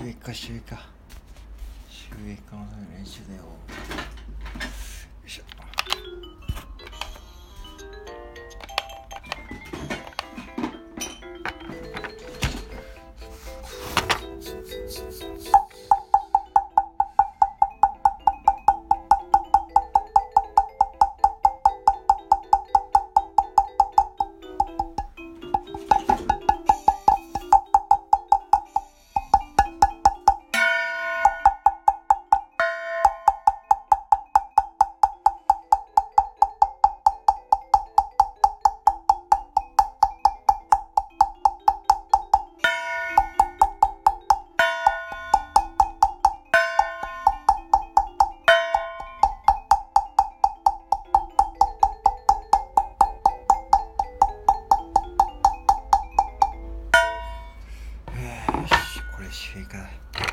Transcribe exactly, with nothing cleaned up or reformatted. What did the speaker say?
収益化収益化収益化のための練習だよ。よいしょ。これ収益化だ。